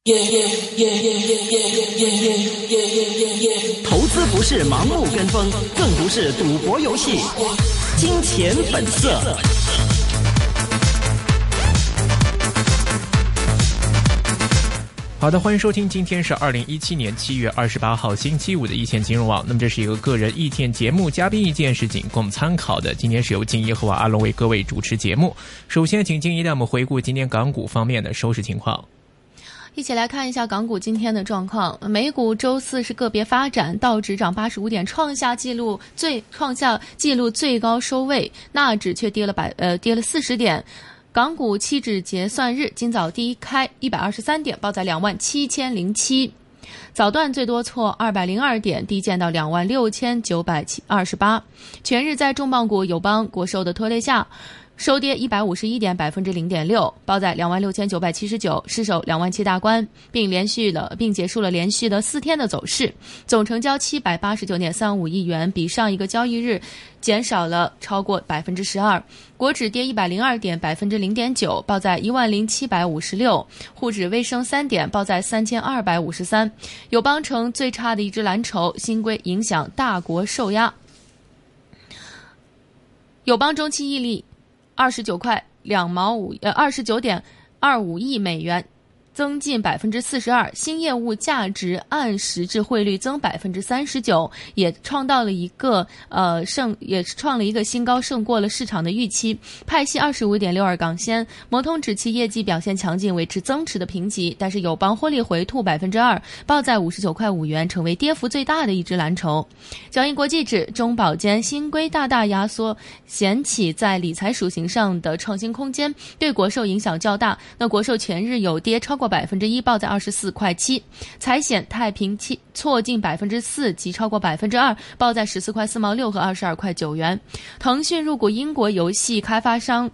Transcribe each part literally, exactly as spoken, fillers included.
投资不是盲目跟风，更不是赌博游戏。金钱本色。 好的，欢迎收听，今天是二零一七年七月二十八号星期五的一线金融网。那么这是一个个人意见节目，嘉宾意见是仅供参考的。今天是由金一和阿龙为各位主持节目。首先请金一带我们回顾今天港股方面的收市情况。 一起来看一下港股今天的状况。美股周四是个别发展，道指涨八十五点，创下纪录最创下纪录最高收位，纳指却跌了百呃跌了四十点。港股期指结算日今早低开一百二十三点，报在两万七千零七。早段最多挫二百零二点，低见到两万六千九百二十八。全日在重磅股友邦、国寿的拖累下，收跌一百五十一点，百分之零点六，报在两万六千九百七十九，失守两万七大关，并连续了并结束了连续的四天的走势。总成交七百八十九点三五亿元，比上一个交易日减少了超过百分之十二。国指跌一百零二点，百分之零点九，报在一万零七百五十六。沪指微升三点，报在三千二百五十三。友邦成最差的一只蓝筹，新规影响大国受压。友邦中期溢利二十九块两毛五呃二十九点二五亿美元，增近百分之四十二，新业务价值按实质汇率增百分之三十九，也创到了一个呃胜也创了一个新高，胜过了市场的预期。派息二十五点六二港仙，摩通指其业绩表现强劲，维持增持的评级，但是友邦获利回吐百分之二，报在五十九块五元，成为跌幅最大的一只蓝筹。交易国际指中保监新规大大压缩险企在理财属性上的创新空间，对国寿影响较大。那国寿全日有跌超过百分之一，报在二十四块七。财险太平期挫近百分之四，及超过百分之二，报在十四块四毛六和二十二块九元。腾讯入股英国游戏开发商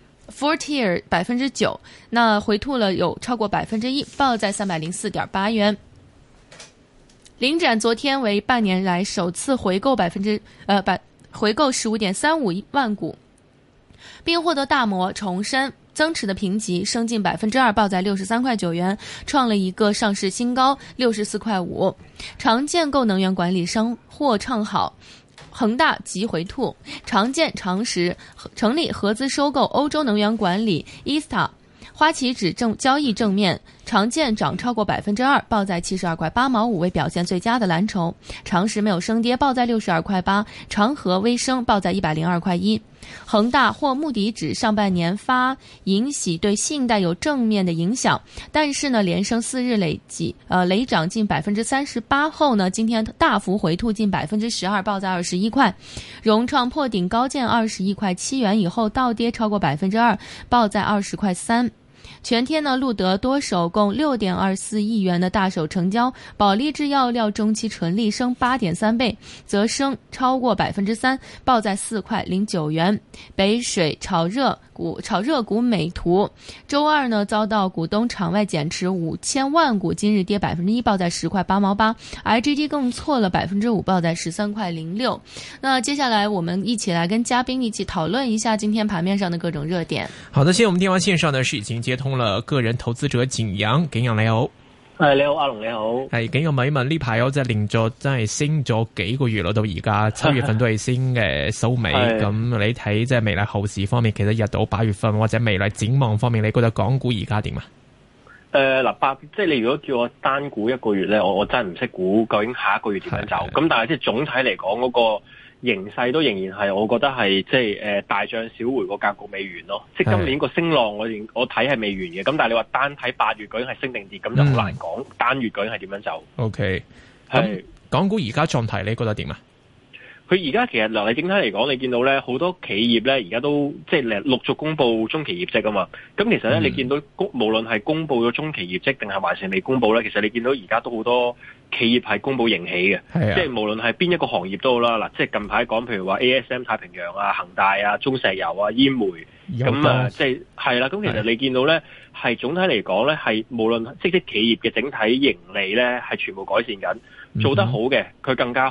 Fortier 百分之九，那回吐了有超过百分之一，报在三百零四点八元。领展昨天为半年来首次回购百分之呃百回购十五点三五万股，并获得大摩重申增持的评级，升近百分之二，报在六十三块九元，创了一个上市新高，六十四块五。长建构能源管理商或唱好，恒大急回吐，长建长实成立合资收购欧洲能源管理 E S T A。花旗指正交易正面，长建涨超过百分之二，报在七十二块八毛五，为表现最佳的蓝筹。长实没有升跌，报在六十二块八。长和微升，报在一百零二块一。恒大或穆迪指上半年发盈喜对信贷有正面的影响，但是呢，连升四日累计呃累涨近百分之三十八后呢，今天大幅回吐近百分之十二，报在二十一块。融创破顶高见二十一块七元以后倒跌超过百分之二，报在二十块三。全天呢，路德多手共六点二四亿元的大手成交，保利制药料中期纯利升八点三倍，则升超过百分之三，报在四块零九元。北水炒热股炒热股美图，周二呢遭到股东场外减持五千万股，今日跌百分之一，报在十块八毛八。I G D 更错了百分之五，报在十三块零六。那接下来我们一起来跟嘉宾一起讨论一下今天盘面上的各种热点。 好的，现在我們電話線上呢是已經接通了個人投資者景陽，景陽你好。 係你好，阿龍你好。 係景陽問一問呢排有隻連續真係升咗幾個月咯，到而家七月份都係升嘅收尾。咁你睇即係未來後市方面，其實入到八月份或者未來展望方面，你覺得港股而家點啊？ 誒嗱，八即係你如果叫我單估一個月咧，我我真係唔識估究竟下一個月點樣走。咁但係即係總體嚟講嗰個形勢都仍然係，我覺得係即係誒大漲小回個格局未完咯。即係今年個升浪我我睇係未完嘅。咁但係你話單睇八月究竟係升定跌，咁就好難講。嗯、單月究竟係點樣走 ？OK，咁港股而家狀態你覺得點啊？ 佢而家其實嗱，你整體嚟講，你見到咧好多企業咧而家都即係陸續公布中期業績啊嘛。咁其實咧、嗯、你見到無論係公布咗中期業績定係還是未公布咧，其實你見到而家都好多企業係公布盈喜嘅，即係無論係邊一個行業都好啦。嗱，即係近排講譬如話 A S M 太平洋啊、恒大啊、中石油啊、煙煤咁啊，即係係啦。咁其實你見到咧係總體嚟講咧係無論即係企業嘅整體盈利咧係全部改善緊，做得好嘅佢更加好。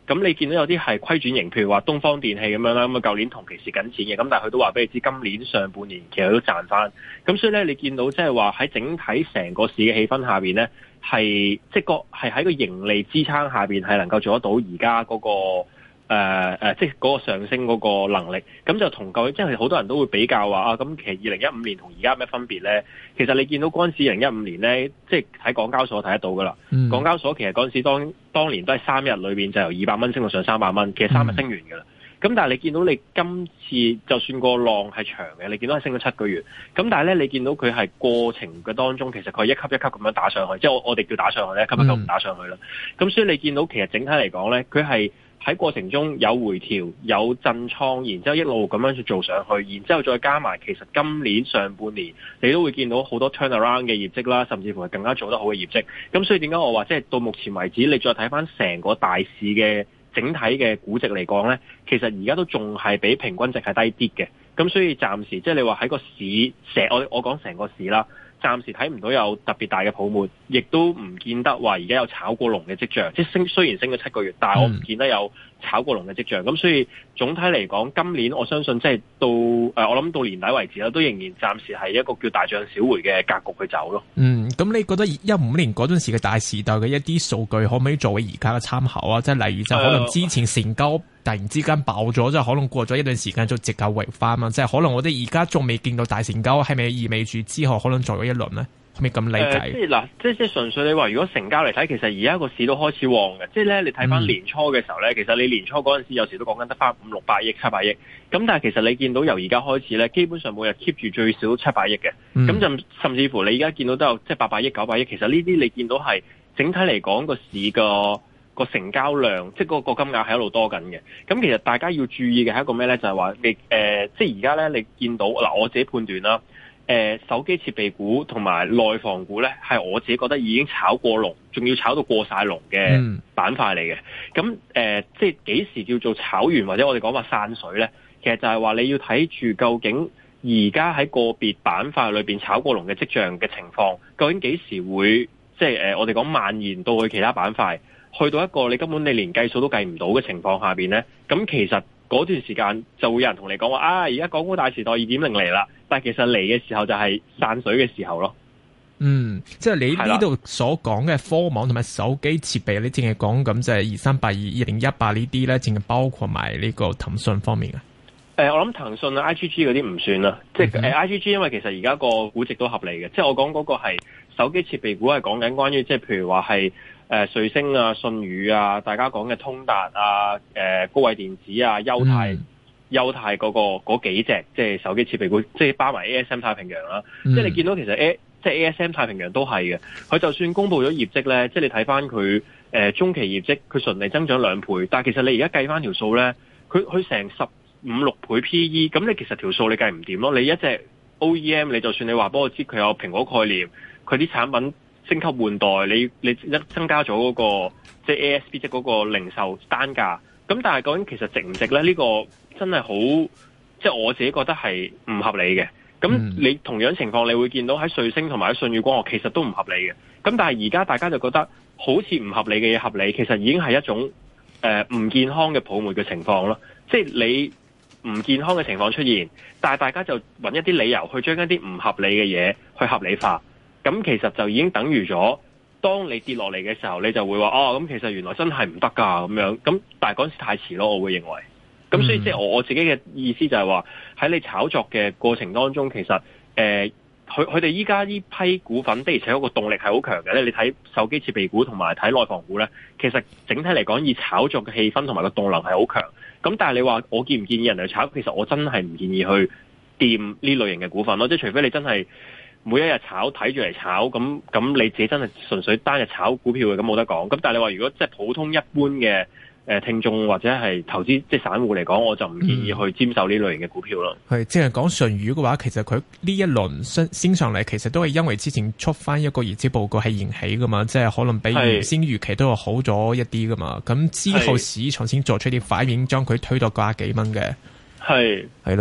咁你見到有啲係虧轉型，譬如話東方電器咁樣啦，咁啊舊年同期蝕緊錢嘅，咁但係佢都話俾你知今年上半年其實都賺翻。咁所以咧，你見到即係話喺整體成個市嘅氣氛下邊咧，係即係個係喺個盈利支撐下邊係能夠做得到而家嗰個。誒誒、呃，即係嗰個上升嗰個能力，咁就同舊，即係好多人都會比較話啊，咁其實二零一五年同而家有咩分別咧？其實你見到嗰陣時二零一五年咧，即係喺港交所睇得到噶啦。嗯、港交所其實嗰陣時當當年都係三日裏邊就由二百蚊升到上三百蚊，其實三日升完噶啦。咁、嗯、但係你見到你今次就算個浪係長嘅，你見到係升咗七個月，咁但係咧你見到佢係過程嘅當中，其實佢係一級一級咁樣打上去，即係我我哋叫打上去咧，一級一級唔打上去啦。咁、嗯、所以你見到其實整體嚟講咧，佢係。喺過程中有回調、有震倉，然之後一路咁樣去做上去，然之後再加埋，其實今年上半年你都會見到好多 turnaround 嘅業績啦，甚至乎係更加做得好嘅業績。咁所以點解我話即係到目前為止，你再睇翻成個大市嘅整體嘅估值嚟講呢，其實而家都仲係比平均值係低啲嘅。咁所以暫時即係你話喺個市成我我講成個市啦。暫時睇唔到有特別大嘅泡沫，亦都唔見得話而家有炒過龍嘅跡象。即係升雖然升咗七個月，但係我唔見得有炒過龍嘅跡象。咁、嗯、所以總體嚟講，今年我相信即係到誒、呃，我諗到年底為止啦，都仍然暫時係一個叫大漲小回嘅格局去走咯。嗯，咁你覺得一五年嗰陣時嘅大時代嘅一啲數據，可唔可以作為而家嘅參考啊？即係例如就可能之前成交突然之間爆咗，即係可能過咗一段時間就直價回翻啊！即係可能我哋而家仲未見到大成交，係咪意味住之後可能做咗一輪咧？係咪咁理解？呃、即係嗱，即係即係純粹你話，如果成交嚟睇，其實而家個市都開始旺嘅。即係咧，你睇翻年初嘅時候咧，嗯、其實你年初嗰陣時有時都講緊得翻五六百億、七百億。咁但係其實你見到由而家開始咧，基本上每日 keep 住最少七百億嘅。咁就、嗯、甚至乎你而家見到都有即係八百億、九百億。其實呢啲你見到係整體嚟講個市個。個成交量即係個個金額係一路多緊嘅，咁其實大家要注意嘅係一個咩咧？就係話你誒，即係而家咧，你見到嗱，我自己判斷啦，誒、呃，手機設備股同埋內房股咧，係我自己覺得已經炒過龍，仲要炒到過晒龍嘅板塊嚟嘅。咁誒、呃，即係幾時叫做炒完或者我哋講話散水咧？其實就係話你要睇住究竟而家喺個別板塊裏邊炒過龍嘅跡象嘅情況，究竟幾時會即係誒、呃，我哋講蔓延到去其他板塊？去到一個你根本你連計數都計唔到嘅情況下邊咧，咁其實嗰段時間就會有人同你講話啊，而家港股大時代二點零嚟啦，但係其實嚟嘅時候就係散水嘅時候咯。嗯，即係你呢度所講嘅科網同埋手機設備，你淨係講咁就係二三八二、二零一八呢啲咧，淨係包括埋呢個騰訊方面啊？誒、呃，我諗騰訊啊、I G G 嗰啲唔算啦，即係誒、呃、I G G， 因為其實而家個估值都合理嘅，即係我講嗰個係手機設備股係講緊關於即係譬如話係。誒瑞聲啊、信宇啊，大家講嘅通達啊、誒、呃、高偉電子啊、優泰、優、嗯、泰嗰、那個嗰幾隻，即係手機設備股，即係包埋 A S M 太平洋啦。嗯、即係你見到其實 A 即係 A S M 太平洋都係嘅，佢就算公布咗業績咧，即係你睇翻佢誒中期業績，佢順利增長兩倍，但係其實你而家計翻條數咧，佢佢成十五六倍 P E， 咁你其實條數你計唔掂咯。你一隻 O E M， 你就算你話幫我知佢有蘋果概念，佢啲產品。升級換代，你你一增加咗嗰、那個即係 A S P， 即係嗰個零售單價。咁但係究竟其實值唔值咧？呢、這個真係好，即係我自己覺得係唔合理嘅。咁你同樣情況，你會見到喺瑞聲同埋喺舜宇光學其實都唔合理嘅。咁但係而家大家就覺得好似唔合理嘅嘢合理，其實已經係一種誒唔、呃、健康嘅泡沫嘅情況咯。即係你唔健康嘅情況出現，但係大家就揾一啲理由去將一啲唔合理嘅嘢去合理化。咁其實就已經等於咗，當你跌落嚟嘅時候，你就會話哦，咁其實原來真係唔得㗎咁樣。咁但係嗰陣時太遲咯，我會認為。咁所以即係我我自己嘅意思就係話，喺你炒作嘅過程當中，其實誒，佢佢哋依家呢批股份的而且確個動力係好強嘅咧。你睇手機設備股同埋睇內房股咧，其實整體嚟講，以炒作嘅氣氛同埋個動能係好強。咁但係你話我建唔建議人去炒？其實我真係唔建議去掂呢類型嘅股份咯。即係除非你真係。每一日炒睇住嚟炒，咁咁你自己真係純粹單日炒股票嘅，咁冇得講。咁但係你話如果即係普通一般嘅誒聽眾或者係投資即係散戶嚟講，我就唔建議去沾手呢類型嘅股票咯。係、嗯，即係講舜宇嘅話，其實佢呢一輪升升上嚟，其實都係因為之前出翻一個業績報告係延起噶嘛，即係可能比原先預期都係好咗一啲噶嘛。咁之後市場先做出啲反應，將佢推到九十幾蚊嘅。係係咯。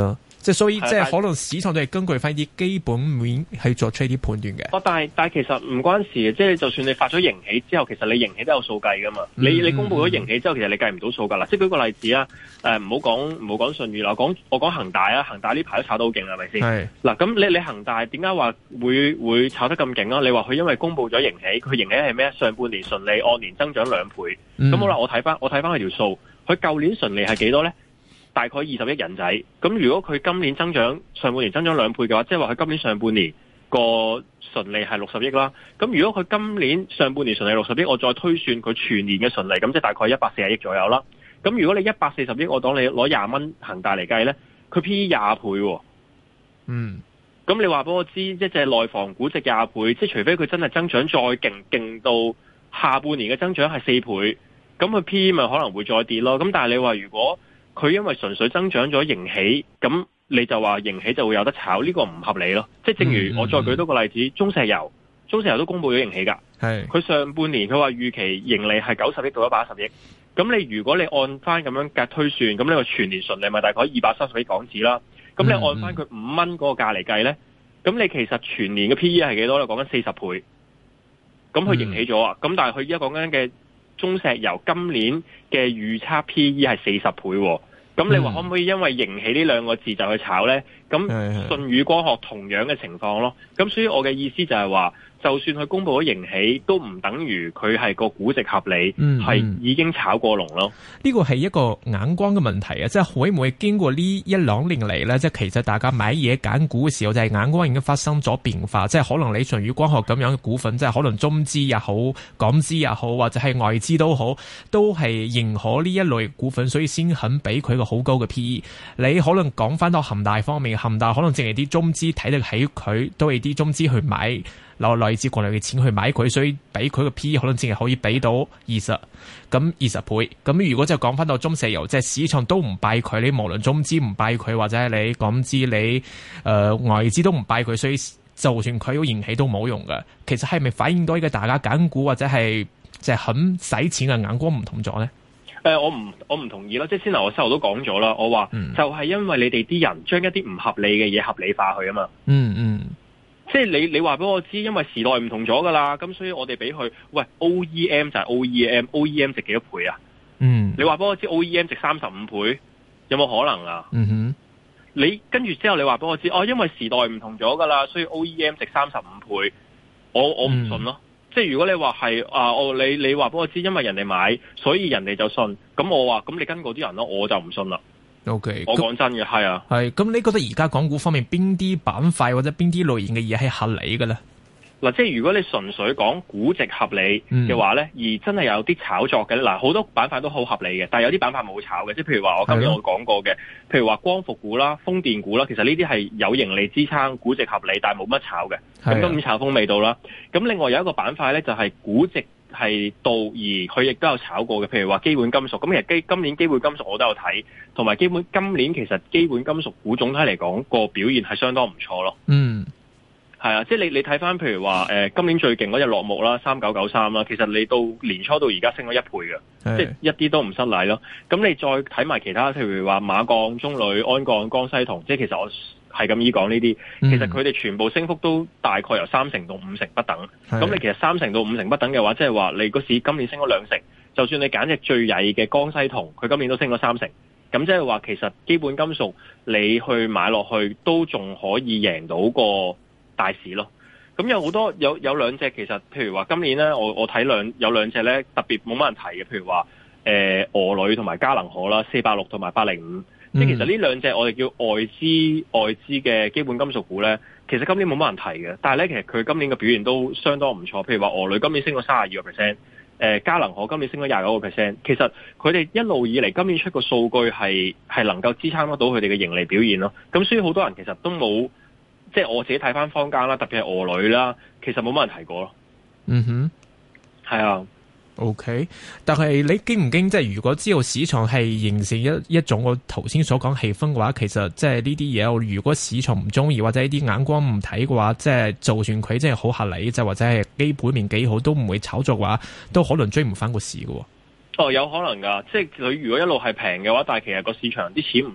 即係所以，即係可能市場都係根據翻啲基本面去作出一啲判斷嘅。 哦，但係但係其實唔關事嘅，即係就算你發咗盈喜之後，其實你盈喜都有數計噶嘛。嗯、你你公布咗盈喜之後，其實你計唔到數噶啦。即係舉個例子啊，誒唔好講唔好講舜宇啦，講我講恒大啊，恒大呢排都炒得好勁，係咪先？係嗱，咁你你恒大點解話會會炒得咁勁啊？你話佢因為公布咗盈喜，佢盈喜係咩？上半年純利按年增長兩倍。咁、嗯、好啦，我睇翻我睇翻佢條數，佢舊年純利係幾多咧？大概二十億人仔，咁如果佢今年增長上半年增長兩倍嘅話，即係話佢今年上半年個純利係六十億啦。咁如果佢今年上半年純利六十億，我再推算佢全年嘅純利，咁即係大概一百四十億左右啦。咁如果你一百四十億，我當你攞廿蚊恒大嚟計咧，佢 P E 廿倍喎。嗯。咁你話俾我知，一隻內房估值廿倍，即係除非佢真係增長再勁，勁到下半年嘅增長係四倍，咁佢 P E 咪可能會再跌咯。咁但係你話如果佢因為純粹增長咗盈喜，咁你就話盈喜就會有得炒，呢、這個唔合理咯。即係正如我再舉多個例子，嗯嗯、中石油，中石油都公布咗盈喜㗎。係佢上半年佢話預期盈利係九十億到一百一十億。咁你如果你按翻咁樣計推算，咁呢個全年純利咪大概二百三十億港紙啦。咁你按翻佢五蚊嗰個價嚟計咧，咁你其實全年嘅 P E 係幾多咧？講緊四十倍。咁佢盈喜咗啊！咁、嗯、但係佢而家講緊嘅中石油今年嘅預測 P E 係四十倍，咁你話可唔可以因為盈喜呢兩個字就去炒呢？咁舜宇光學同樣嘅情況咯。咁所以我嘅意思就係話，就算佢公布咗盈喜，都唔等於佢係個估值合理，係、嗯嗯、已經炒過龍咯。 呢個係一個眼光嘅問題啊！即係會唔會經過呢一兩年嚟呢？即係其實大家買嘢揀股嘅時候，就係、是、眼光已經發生咗變化。即係可能你舜宇光學咁樣嘅股份，即係可能中資也好、港資也好，或者係外資都好，都係認可呢一類股份，所以先肯俾佢個好高嘅 P E。你可能講翻到恒大方面，恒大可能淨係啲中資睇得起佢，都係啲中資去買。攞來自國內嘅錢去買佢，所以俾佢個 P E 可能淨係可以俾到二十，咁二十倍。咁如果就講翻到中石油，即係市場都唔拜佢，你無論中資唔拜佢，或者係你港資你誒、呃、外資都唔拜佢，所以就算佢有盈喜都冇用嘅。其實係咪反映到呢個大家揀股或者係即係肯使錢嘅眼光唔同咗咧？ 誒、呃，我唔我唔同意啦。即係先頭我細路都講咗啦，我話、嗯、就係因為你哋啲人將一啲唔合理嘅嘢合理化去啊嘛。嗯嗯。即係你你話俾我知，因為時代唔同咗噶啦，咁所以我哋俾佢喂 O E M 就係 O E M，O E M 值幾多倍啊？嗯，你話俾我知 O E M 值三十五倍，有冇可能啊？嗯哼，你跟住之後你話俾我知，哦，因為時代唔同咗噶啦，所以 O E M 值三十五倍，我我唔信咯。嗯、即係如果你話係啊，我你你話俾我知，因為人哋買，所以人哋就信，咁我話咁你跟嗰啲人咯，我就唔信啦。O K， 我講真嘅係啊， 係咁，你覺得而家港股方面邊啲板塊或者邊啲類型嘅嘢係合理嘅咧？ 嗱，即係如果你純粹講估值合理嘅話咧，嗯、而真係有啲炒作嘅咧，嗱，好多板塊都好合理嘅，但係有啲板塊冇炒嘅，即係譬如話我今日我講過嘅，譬如話光伏股啦、風電股啦，其實呢啲係有盈利支撐、估值合理，但係冇乜炒嘅。咁今年炒風未到啦。咁另外有一個板塊咧，就係估值係到，而佢亦都有炒過嘅，譬如話基本金屬。咁其實基今年基本金屬我都有睇，同埋基本今年其實基本金屬股總體嚟講個表現係相當唔錯咯。嗯，係啊，即係你你睇翻譬如話誒、呃、今年最勁嗰隻落木啦，三九九三啦，其實你到年初到而家升咗一倍嘅，即係一啲都唔失禮咯。咁你再睇埋其他，譬如話馬鋼、中鋁、鞍鋼、江西銅，即係其實我係咁意講呢啲，其實佢哋全部升幅都大概由三成到五成不等。咁你其實三成到五成不等嘅話，即係話你個市今年升咗兩成，就算你揀隻最曳嘅江西銅，佢今年都升咗三成。咁即係話其實基本金屬你去買落去都仲可以贏到個大市咯。咁有好多有有兩隻其實，譬如話今年咧，我我睇兩有兩隻咧特別冇乜人提嘅，譬如話誒俄鋁同埋嘉能可啦，四百六同埋八零五。即係其實呢兩隻我哋叫外資外資嘅基本金屬股咧，其實今年冇乜人提嘅，但係咧其實佢今年嘅表現都相當唔錯。譬如話俄鋁今年升咗三十二個 percent，誒嘉能可今年升咗廿九個 percent。其實佢哋一路以嚟今年出個數據係係能夠支撐得到佢哋嘅盈利表現咯。咁所以好多人其實都冇，即係我自己睇翻坊間啦，特別係俄鋁啦，其實冇乜人提過咯。嗯哼，係啊。 O、okay, K， 但係你驚唔驚？即係如果知道市場係形成一一種我頭先所講氣氛嘅話，其實即係呢啲嘢，如果市場唔中意或者啲眼光唔睇嘅話，即係就算佢真係好合理，即係或者係基本面幾好，都唔會炒作嘅話，都可能追唔翻個市嘅。 哦，有可能噶，即係佢如果一路係平嘅話，但係其實個市場啲錢唔落，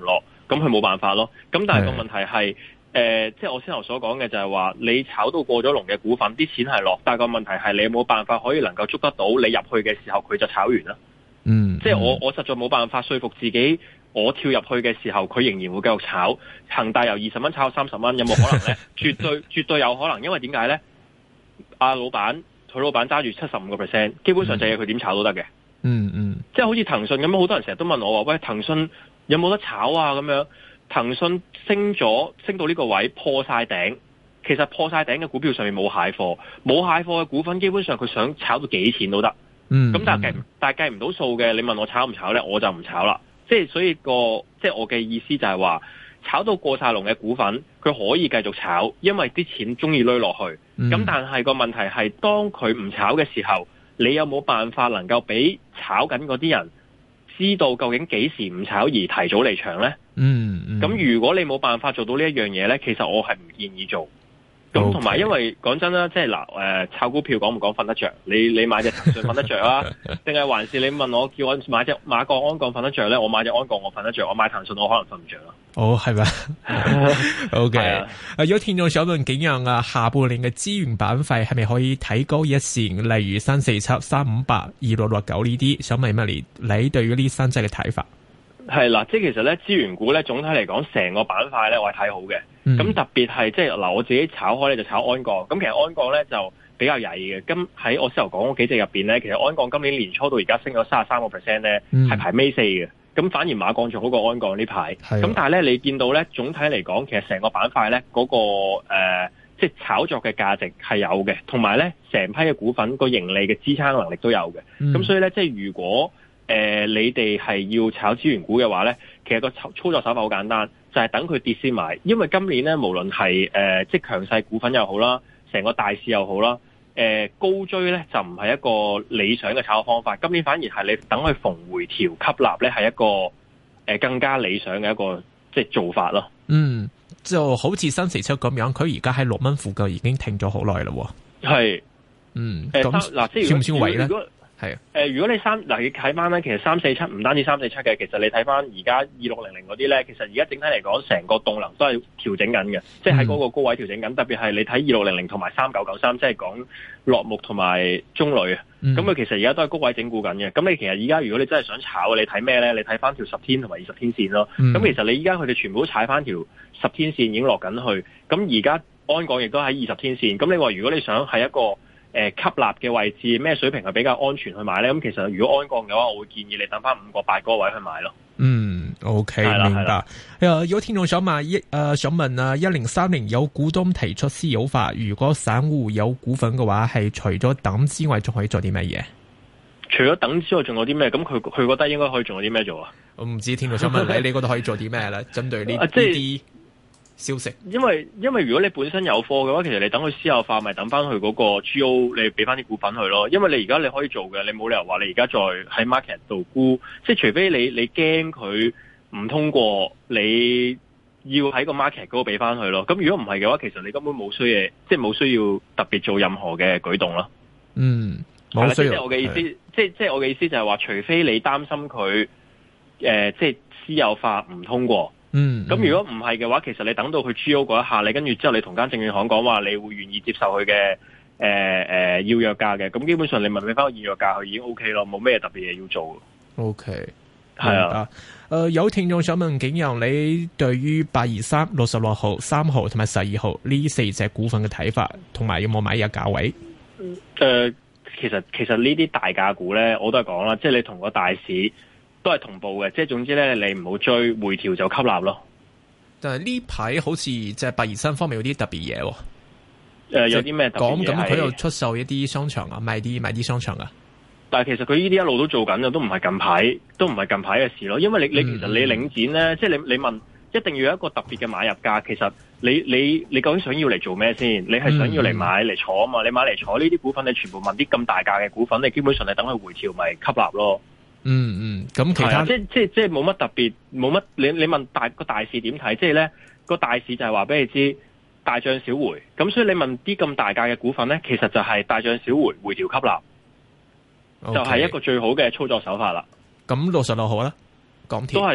咁佢冇辦法咯。咁但係個問題係，誒、呃，即係我先頭所講嘅就係話，你炒到過咗龍嘅股份，啲錢係落，但係個問題係你有冇辦法可以能夠捉得到你入去嘅時候，佢就炒完啦。 嗯， 即係我我實在冇辦法說服自己，我跳入去嘅時候，佢仍然會繼續炒。恒大由二十蚊炒到三十蚊，有冇可能咧？絕對絕對有可能，因為點解咧？阿老闆佢老闆揸住七十五個 percent， 基本上就係佢點炒都得嘅。 嗯嗯， 即係好似騰訊咁，好多人成日都問我話，喂，騰訊有冇得炒啊？咁樣，騰訊升咗，升到呢個位破晒頂，其實破晒頂嘅股票上面冇蟹貨，冇蟹貨嘅股份，基本上佢想炒到幾錢都得。 嗯， 咁但係計但係計唔到數嘅，你問我炒唔炒咧，我就唔炒啦。即係所以個即係我嘅意思就係話，炒到過晒龍嘅股份，佢可以繼續炒，因為啲錢中意攞落去。咁、嗯、但係個問題係，當佢唔炒嘅時候，你有冇辦法能夠俾炒緊嗰啲人知道究竟幾時唔炒而提早離場咧？ 嗯，咁、 嗯、如果你冇辦法做到呢一樣嘢咧，其實我係唔建議做。咁同埋，因為講真啦，即係嗱，誒、呃，炒股票講唔講瞓得着？你你買隻騰訊瞓得着啊？定係還是你問我叫我買隻馬國安鋼瞓得着咧？我買隻安鋼我瞓得着，我買騰訊我可能瞓唔着咯。 哦，係咪？O K，誒，有聽眾想問景陽啊，下半年嘅資源板塊係咪可以睇高一線？例如三四七、三五八、二六六九呢啲，想問乜你你對於呢三隻嘅睇法？ 係啦，即係其實咧，資源股咧，總體嚟講，成個板塊咧，我係睇好嘅。咁、嗯、特別係即係嗱，我自己炒開咧就炒安鋼。咁其實安鋼咧就比較曳嘅。咁喺我先頭講嗰幾隻入邊咧，其實安鋼今年年初到而家升咗三十三個 percent 咧，係、嗯、排尾四嘅。咁反而馬鋼仲好過安鋼呢排。咁但係咧，你見到咧，總體嚟講，其實成個板塊咧嗰個誒，即、呃、係、就是、炒作嘅價值係有嘅，同埋咧成批嘅股份個盈利嘅支撐能力都有嘅。咁、嗯、所以咧，即係如果誒、呃，你哋係要炒資源股嘅話咧，其實個操操作手法好簡單，就係、是、等佢跌先買。因為今年咧，無論係誒即係強勢股份又好啦，成個大市又好啦，誒、呃、高追咧就唔係一個理想嘅炒方法。今年反而係你等佢逢回調吸納咧，係一個誒、呃、更加理想嘅一個即係做法咯。嗯， 就好似三四七咁樣，佢而家喺六蚊附近已經停咗好耐啦。 係， 嗯， 誒嗱，即係算唔算位咧？ 係誒、呃，如果你三嗱，你睇翻咧，其實三四七唔單止三四七嘅，其實你睇翻而家二六零零嗰啲咧，其實而家整體嚟講，成個動能都係調整緊嘅，即係喺嗰個高位調整緊。特別係你睇二六零零同埋三九九三，即係講落木同埋中鋁啊。咁、嗯、佢其實而家都係高位整固緊嘅。咁你其實而家如果你真係想炒，你睇咩咧？你睇翻條十天同埋二十天線咯。咁、嗯、其實你而家佢哋全部都踩翻條十天線已經落緊去。咁而家安鋼亦都喺二十天線。咁你話如果你想係一個誒、呃，吸納嘅位置咩水平係比較安全去買咧？咁其實如果安鋼嘅話，我會建議你等翻五個八個位去買咯。 嗯 ，OK，明白。誒，有聽眾想問一誒，想問啊，一零三零有股東提出私有化，如果散戶有股份嘅話，係除咗等之外，仲可以做啲乜嘢？ 除咗等之外，仲有啲咩？咁佢佢覺得應該可以仲有啲咩做啊？ 我唔知，聽眾想問你，你覺得可以做啲咩咧？針對呢呢啲消息， 因為因為如果你本身有貨嘅話，其實你等佢私有化，咪等翻佢嗰個 G O， 你俾翻啲股份佢咯。因為你而家你可以做嘅，你冇理由話你而家再喺 market 度沽，即係除非你你驚佢唔通過，你要喺個 market 嗰度俾翻佢咯。咁如果唔係嘅話，其實你根本冇需要，即係冇需要特別做任何嘅舉動咯。 嗯，冇需要。 即係我嘅意思，即係即係我嘅意思就係話，除非你擔心佢誒、呃，即係私有化唔通過。 嗯， 咁如果唔係嘅話，其實你等到佢 G O 嗰一下，你跟住之後你同間證券行講話，你會願意接受佢嘅誒誒要約價嘅，咁基本上你問你翻個現約價，佢已經 O K 咯，冇咩特別嘢要做。 O K， 係啊。 誒、呃，有聽眾想問景陽，你對於八二三、六十六號、三號同埋十二號呢四隻股份嘅睇法，同埋有冇買入價位？ 誒、呃，其實其實呢啲大價股咧，我都係講啦，即係你同個大市都係同步嘅，即係總之咧，你唔好追，回調就吸納咯。 但係呢排好似即係八二三方面有啲特別嘢。誒、 呃，有啲咩特別嘢？ 講咁佢又出售一啲商場啊，賣啲賣啲商場啊。 但係其實佢呢啲一路都做緊嘅，都唔係近排，都唔係近排嘅事咯。因為你你其實你領展咧、嗯，即係你你問，一定要有一個特別嘅買入價。其實你你你究竟想要嚟做咩先？你係想要嚟買嚟坐啊嘛？你買嚟坐呢啲股份，你全部問啲咁大價嘅股份，你基本上你等佢回調咪吸納咯。 嗯嗯，咁其他、啊、即即即冇乜特別，冇乜你你問大個大市點睇？即係咧個大市就係話俾你知大漲小回，咁所以你問啲咁大價嘅股份咧，其實就係大漲小回，回調吸納，okay. 就係一個最好嘅操作手法啦。 咁六十六號咧，港鐵都係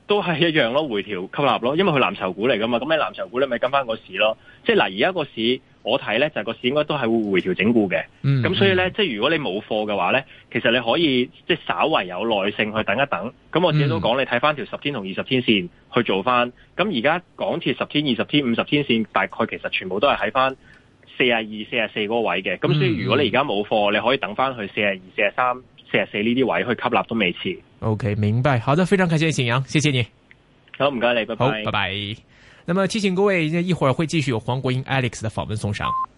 都係一樣咯，回調吸納咯，因為佢藍籌股嚟噶嘛，咁你藍籌股你咪跟翻個市咯。即係嗱，而家個市我睇咧就係、是、個市應該都係會回調整固嘅。咁、嗯、所以咧，即係如果你冇貨嘅話咧，其實你可以即係稍為有耐性去等一等。咁我自己都講，你睇翻條十天同二十天線去做翻。咁而家港鐵十天、二十天、五十天線大概其實全部都係喺翻四十二、四十四嗰個位嘅。咁所以如果你而家冇貨，你可以等翻去四十二、四十三、四十四呢啲位去吸納都未遲。 OK， 明白。好的，非常感謝景陽，謝謝你。 好，唔該你，拜拜。 好，拜拜。那麼提醒各位，一會兒會繼續有黃國英 Alex 的訪問送上。